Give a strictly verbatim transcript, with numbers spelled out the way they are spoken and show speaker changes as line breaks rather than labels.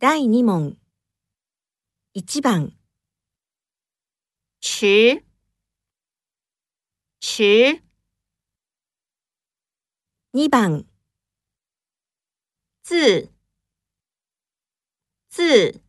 だいに問。いち番、
迟迟
に番、
自自